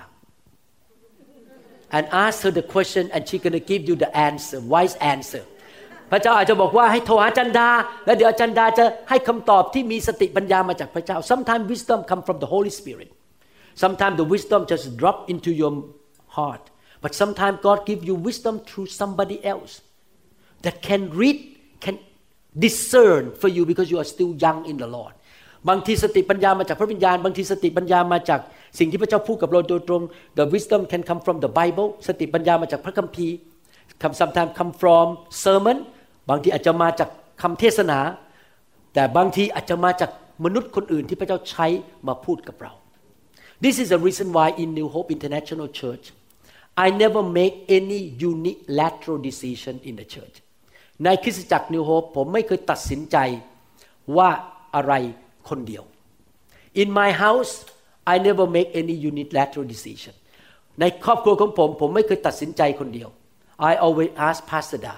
and ask her the question and she gonna give you the answer wise answer พระเจ้าอาจจะบอกว่าให้โทรหาจันดาแล้วเดี๋ยวจันดาจะให้คำตอบที่มีสติปัญญามาจากพระเจ้า sometimes wisdom come from the Holy Spirit sometimes the wisdom just drop into your heart but sometimes God give you wisdom through somebody else that can read can discern for you because you are still young in the Lord บางทีสติปัญญามาจากพระวิญญาณบางทีสติปัญญามาจากสิ่งที่พระเจ้าพูดกับเราโดยตรง the wisdom can come from the Bible สติปัญญามาจากพระคัมภีร์ come sometimes come from sermon บางทีอาจจะมาจากคำเทศนาแต่บางทีอาจจะมาจากมนุษย์คนอื่นที่พระเจ้าใช้มาพูดกับเรา This is the reason why in New Hope International Church I never make any unilateral decision in the church ในคริสตจักร New Hope ผมไม่เคยตัดสินใจว่าอะไรคนเดียว In my house I never make any unilateral decision ในครอบครัวของผมผมไม่เคยตัดสินใจคนเดียว I always ask Pastor Da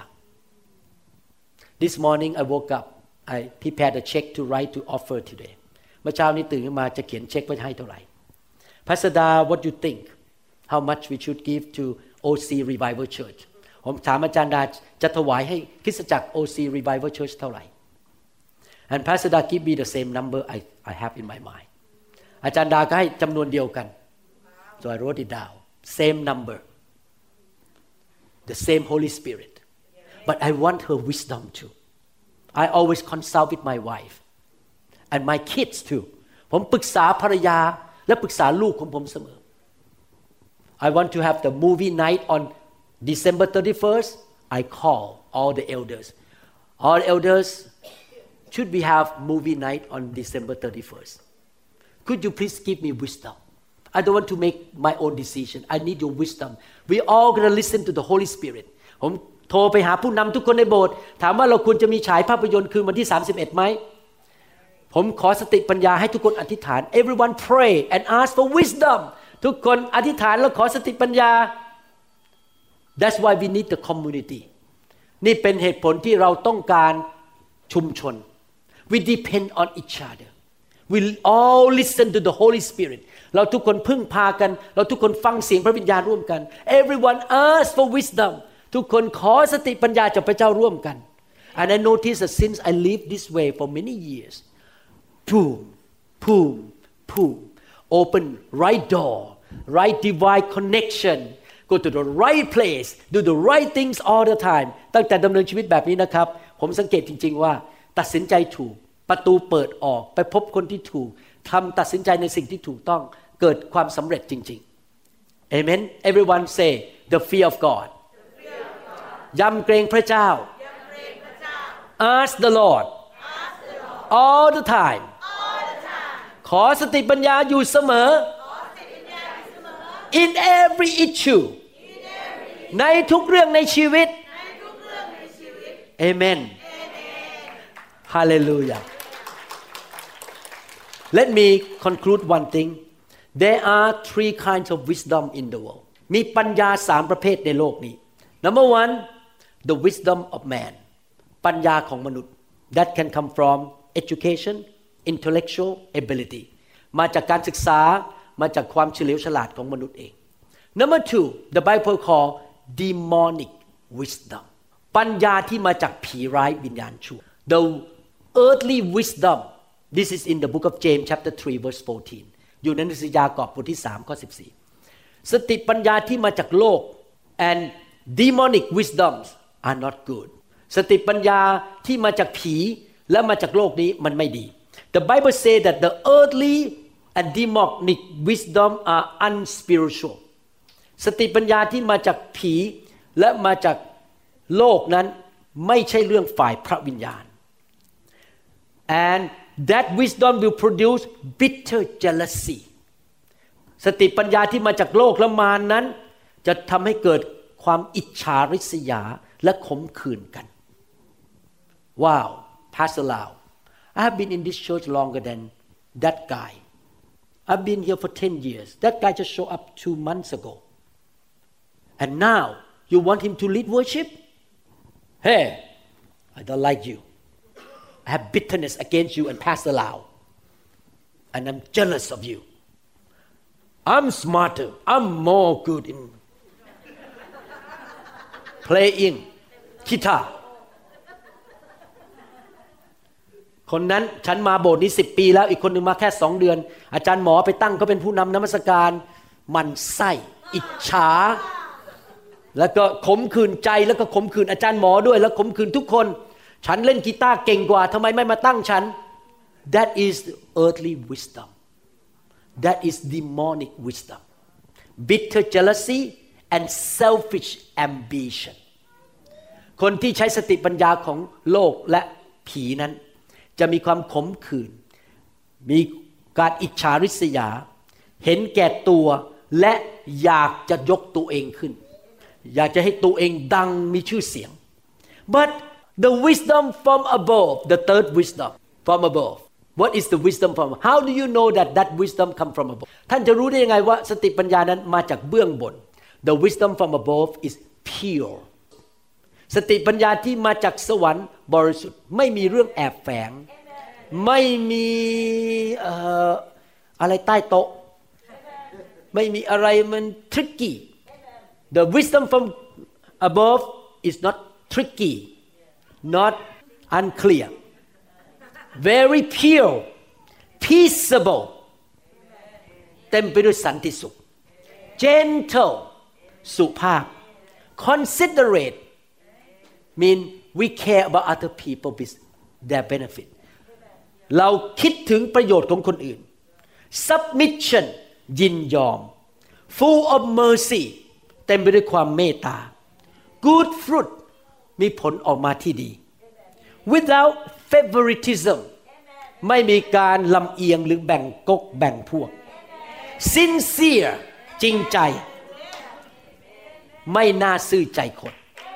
This morning I woke up I prepared a check to write to offer today เมื่อเช้านี้ตื่นขึ้นมาจะเขียนเช็คไว้ให้เท่าไหร่ Pastor Da what do you think how much we should give to โอ ซี Revival Church ผมถามอาจารย์ดาจะถวายให้คริสตจักร โอ ซี Revival Church เท่าไหร่ and Pastor Da give me the same number I I have in my mind อาจารย์ดาก็ให้จำนวนเดียวกัน so I wrote it down same number the same Holy Spirit but I want her wisdom too I always consult with my wife and my kids too ผมปรึกษาภรรยาและปรึกษาลูกของผมเสมอ I want to have the movie night on December thirty-first I call all the elders all elders should we have movie night on December thirty-first Could you please give me wisdom? I don't want to make my own decision. I need your wisdom. We all gonna listen to the Holy Spirit. ผมโทรไปหาผู้นำทุกคนในโบสถ์ถามว่าเราควรจะมีฉายภาพยนตร์คืนวันที่สามสิบเอ็ดไหมผมขอสติปัญญาให้ทุกคนอธิษฐาน Everyone pray and ask for wisdom. ทุกคนอธิษฐานแล้วขอสติปัญญา That's why we need the community. นี่เป็นเหตุผลที่เราต้องการชุมชน We depend on each other.We all listen to the Holy Spirit เราทุกคนพึ่งพากันเราทุกคนฟังเสียงพระวิญญาณร่วมกัน Everyone ask for wisdom ทุกคนขอสติปัญญาจากพระเจ้าร่วมกัน And I notice that since I live this way for many years boom boom boom open right door right divine connection go to the right place do the right things all the time ตั้งแต่ดำเนินชีวิตแบบนี้นะครับผมสังเกตจริงๆว่าตัดสินใจถูกประตูเปิดออกไปพบคนที่ถูกทำตัดสินใจในสิ่งที่ถูกต้องเกิดความสำเร็จจริงๆ Amen Everyone say the fear of God ยำเกรงพระเจ้า Ask the Lord all the time ขอสติปัญญาอยู่เสมอ In every issue ในทุกเรื่องในชีวิต Amen Hallelujah Let me conclude one thing. There are three kinds of wisdom in the world. มีปัญญาสามประเภทในโลกนี้ Number one, the wisdom of man. ปัญญาของมนุษย์ That can come from education, intellectual ability. มาจากการศึกษามาจากความเฉลียวฉลาดของมนุษย์เอง Number two, the Bible call demonic wisdom. ปัญญาที่มาจากผีร้ายวิญญาณชั่ว The earthly wisdom.This is in the book of James chapter three verse fourteen อยู่ในหนังสือยากอบบทที่สามข้อสิบสี่สติปัญญาที่มาจากโลก and demonic wisdoms are not good สติปัญญาที่มาจากผีและมาจากโลกนี้มันไม่ดี The Bible say that the earthly and demonic wisdom are unspiritual สติปัญญาที่มาจากผีและมาจากโลกนั้นไม่ใช่เรื่องฝ่ายพระวิญญาณ and that wisdom will produce bitter jealousy สติปัญญาที่มาจากโลกและมารนั้นจะทำให้เกิดความอิจฉาริษยาและขมขื่นกันว้าว Pastor Lau I have been in this church longer than that guy I've been here for ten years that guy just showed up two months ago and now you want him to lead worship hey I don't like you I have bitterness against you and Pastor Lau and I'm jealous of you I'm smarter I'm more good in playing guitar คนนั้นฉันมาโบสถ์นี้สิบปีแล้วอีกคนนึงมาแค่สองเดือนอาจารย์หมอไปตั้งเขาเป็นผู้นำนมัสการมันไส้อิจฉาแล้วก็ขมขื่นใจแล้วก็ขมขื่นอาจารย์หมอด้วยแล้วขมขื่นทุกคนฉันเล่นกีตาร์เก่งกว่าทำไมไม่มาตั้งฉัน That is earthly wisdom That is demonic wisdom bitter jealousy and selfish ambition คนที่ใช้สติปัญญาของโลกและผีนั้นจะมีความขมขื่นมีการอิจฉาริษยาเห็นแก่ตัวและอยากจะยกตัวเองขึ้นอยากจะให้ตัวเองดังมีชื่อเสียง but the wisdom from above the third wisdom from above what is the wisdom from how do you know that that wisdom come from above ท่านจะรู้ได้ยังไงว่าสติปัญญานั้นมาจากเบื้องบน the wisdom from above is pure สติปัญญาที่มาจากสวรรค์บริสุทธิ์ไม่มีเรื่องแอบแฝงไม่มีเอ่ออะไรใต้โต๊ะไม่มีอะไรมัน tricky the wisdom from above is not tricky not unclear very pure peaceable เต็มไปด้วยสันติสุข gentle สุภาพ considerate mean we care about other people their benefit เราคิดถึงประโยชน์ของคนอื่น submission ยินยอม full of mercy เต็มไปด้วยความเมตตา good fruit มีผลออกมาที่ดี without favoritism ไม่มีการลำเอียงหรือแบ่งก๊กแบ่งพวก sincere จริงใจไม่น่าซื่อใจคน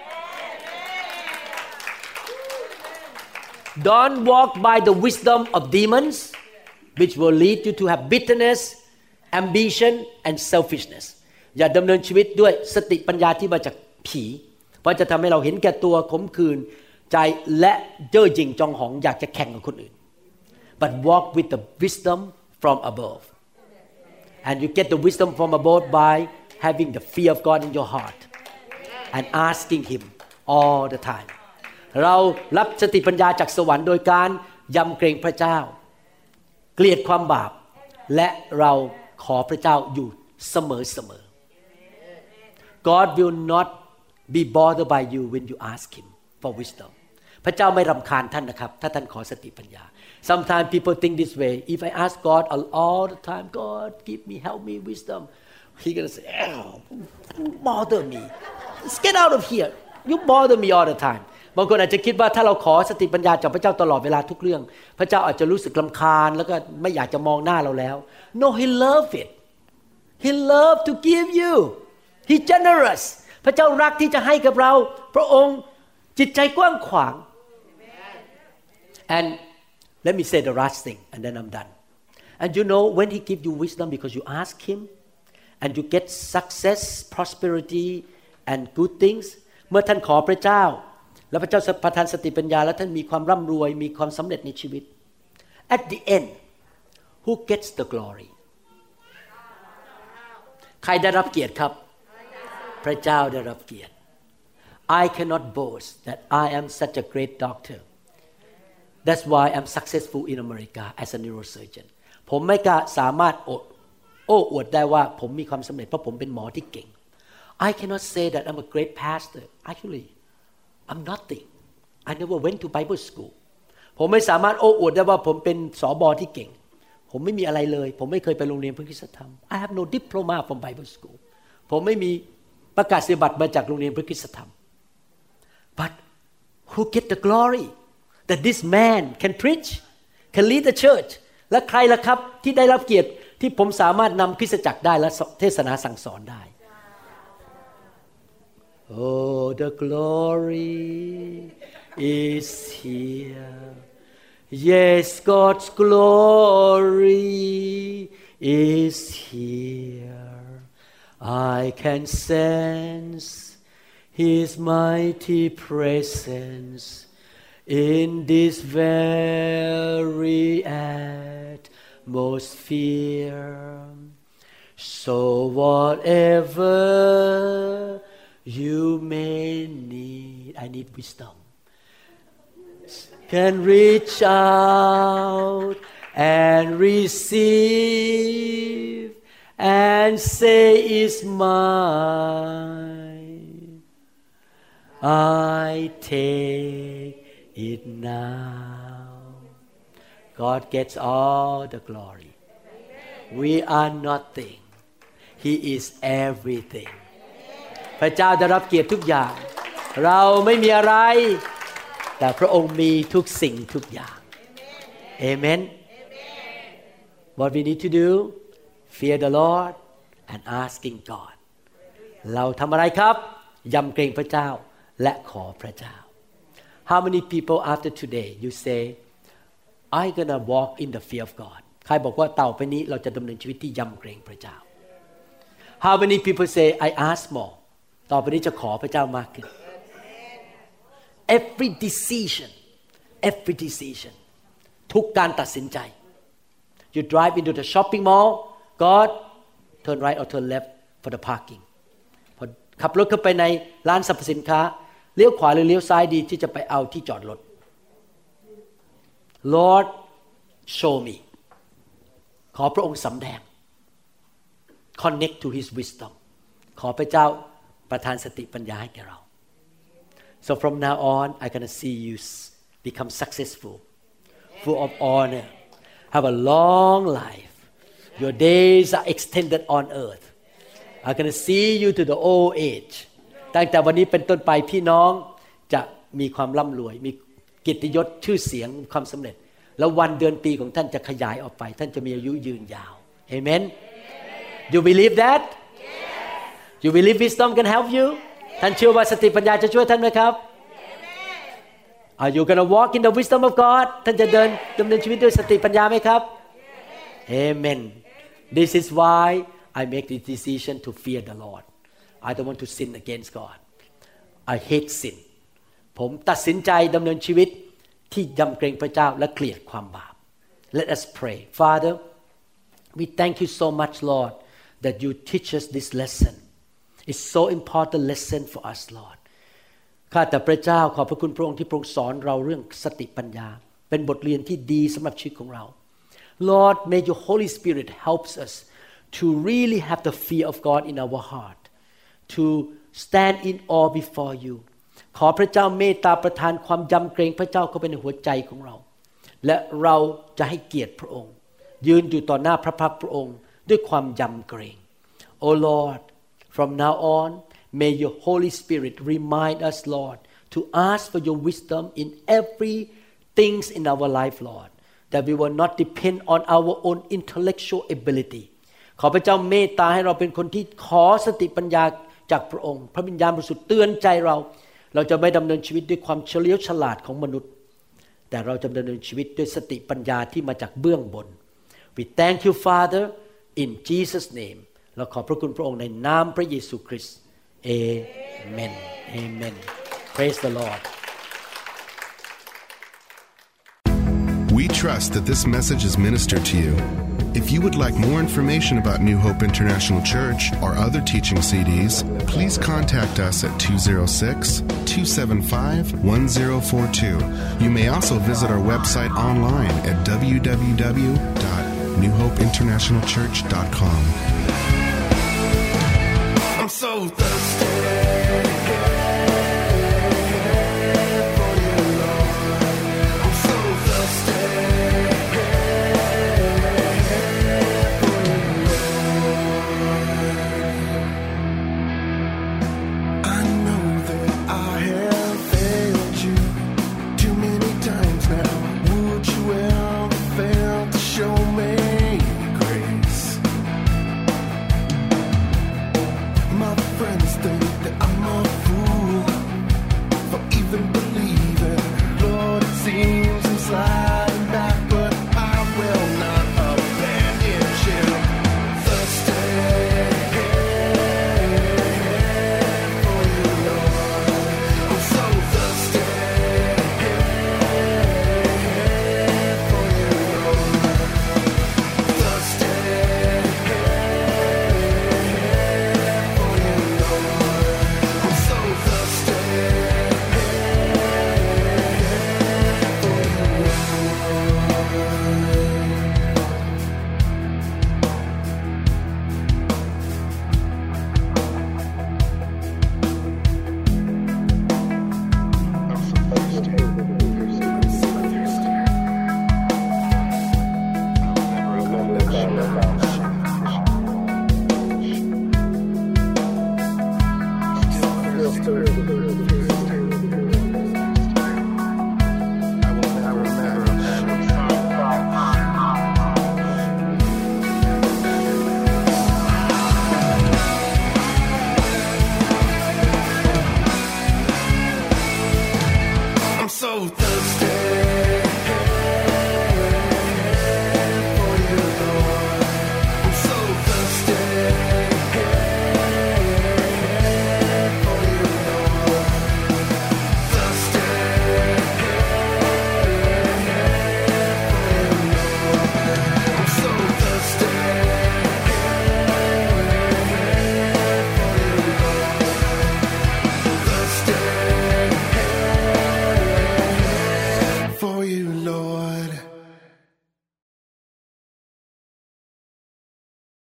Don't walk by the wisdom of demons which will lead you to have bitterness ambition and selfishness อย่าดำเนินชีวิตด้วยสติปัญญาที่มาจากผีเพราะจะทำให้เราเห็นแก่ตัวขมขื่นใจและเย่อหยิ่งจองหองอยากจะแข่งกับคนอื่น but walk with the wisdom from above and you get the wisdom from above by having the fear of God in your heart and asking Him all the time เรารับสติปัญญาจากสวรรค์โดยการยำเกรงพระเจ้าเกลียดความบาปและเราขอพระเจ้าอยู่เสมอๆ God will not be bothered by you when you ask Him for wisdom พระเจ้าไม่รำคาญท่านนะครับถ้าท่านขอสติปัญญา Sometimes people think this way if I ask God all the time God give me help me wisdom He gonna say oh, bother me Let's get out of here you bother me all the time บางคนอาจจะคิดว่าถ้าเราขอสติปัญญาจากพระเจ้าตลอดเวลาทุกเรื่องพระเจ้าอาจจะรู้สึกรำคาญแล้วก็ไม่อยากจะมองหน้าเราแล้ว No He love it He love to give you He generous พระเจ้ารักที่จะให้กับเราพระองค์จิตใจกว้างขวาง and let me say the last thing and then I'm done and you know when He give you wisdom because you ask Him and you get success prosperity and good things เมื่อท่านขอพระเจ้าแล้วพระเจ้าประทานสติปัญญาแล้วท่านมีความร่ำรวยมีความสำเร็จในชีวิต at the end who gets the glory ใครได้รับเกียรติครับพระเจ้าได้รับเกียรติ I cannot boast that I am such a great doctor that's why I'm successful in America as a neurosurgeon ผมไม่กล้าสามารถโอ้อวดได้ว่าผมมีความสำเร็จเพราะผมเป็นหมอที่เก่ง I cannot say that I'm a great pastor actually I'm nothing I never went to Bible school ผมไม่สามารถโอ้อวดได้ว่าผมเป็นสบที่เก่งผมไม่มีอะไรเลยผมไม่เคยไปโรงเรียนพระคริสตธรรม I have no diploma from Bible school ผมไม่มีประกาศนียบัตรมาจากโรงเรียนพระคริสตธรรม But who get the glory that this man can preach can lead the church และใครล่ะครับที่ได้รับเกียรติที่ผมสามารถนำคริสตจักรได้และเทศนาสั่งสอนได้ Oh the glory is here Yes God's glory is here I can sense His mighty presence in this very atmosphere. So whatever you may need, I need wisdom, can reach out and receive and say it's mine.I take it now. God gets all the glory. We are nothing. He is everything. พระเจ้าได้รับเกียรติทุกอย่างเราไม่มีอะไรแต่พระองค์มีทุกสิ่งทุกอย่าง Amen. What we need to do? Fear the Lord and asking God. เราทำอะไรครับยำเกรงพระเจ้าและขอพระเจ้า How many people after today you say I'm gonna walk in the fear of God ใครบอกว่าต่อไปนี้เราจะดำเนินชีวิตที่ยำเกรงพระเจ้า How many people say I ask more ต่อไปนี้จะขอพระเจ้ามากขึ้น Every decision every decision ทุกการตัดสินใจ You drive into the shopping mall God turn right or turn left for the parkingพอขับรถเข้าไปในร้านสรรพสินค้าเลี้ยวขวาหรือเลี้ยวซ้ายดีที่จะไปเอาที่จอดรถ Lord show me ขอพระองค์สำแดง Connect to His wisdom ขอพระเจ้าประทานสติปัญญาให้แก่เรา So from now on I'm gonna see you become successful full of honor have a long life your days are extended on earth I'm gonna see you to the old age ตั้งแต่วันนี้เป็นต้นไปพี่น้องจะมีความร่ำรวยมีเกียรติยศชื่อเสียงความสำเร็จแล้ววันเดือนปีของท่านจะขยายออกไปท่านจะมีอายุยืนยาว Amen You believe that You believe wisdom can help you ท่านเชื่อว่าสติปัญญาจะช่วยท่านไหมครับ Are you gonna walk in the wisdom of God ท่านจะเดินดำเนินชีวิตด้วยสติปัญญาไหมครับ Amen This is why I make the decision to fear the Lord. I don't want to sin against God. I hate sin. ผมตัดสินใจดำเนินชีวิตที่ยำเกรงพระเจ้าและเกลียดความบาป Let us pray. Father, we thank you so much, Lord, that you teach us this lesson. It's so important lesson for us, Lord. ข้าแต่พระเจ้าขอบพระคุณพระองค์ที่พระองค์สอนเราเรื่องสติปัญญาเป็นบทเรียนที่ดีสำหรับชีวิตของเรา Lord, may your Holy Spirit helps us.To really have the fear of God in our heart, to stand in awe before you. ขอพระเจ้าเมตตาประทานความยำเกรงพระเจ้าเข้าไปในหัวใจของเราและเราจะให้เกียรติพระองค์ยืนอยู่ต่อหน้าพระพักตร์พระองค์ด้วยความยำเกรง Oh Lord, from now on, may your Holy Spirit remind us, Lord, to ask for your wisdom in every things in our life, Lord, that we will not depend on our own intellectual ability.ขอพระเจ้าเมตตาให้เราเป็นคนที่ขอสติปัญญาจากพระองค์พระวิญญาณบริสุทธิ์เตือนใจเราเราจะไม่ดำเนินชีวิตด้วยความเฉลียวฉลาดของมนุษย์แต่เราจะดำเนินชีวิตด้วยสติปัญญาที่มาจากเบื้องบน We thank you Father in Jesus name เราขอบพระคุณพระองค์ในนามพระเยซูคริสต์ Amen Amen Praise the Lord We trust that this message is ministered to you.If you would like more information about New Hope International Church or other teaching C Ds, please contact us at two oh six, two seven five, one oh four two. You may also visit our website online at w w w dot new hope international church dot com. I'm so thirsty.Show me grace. Still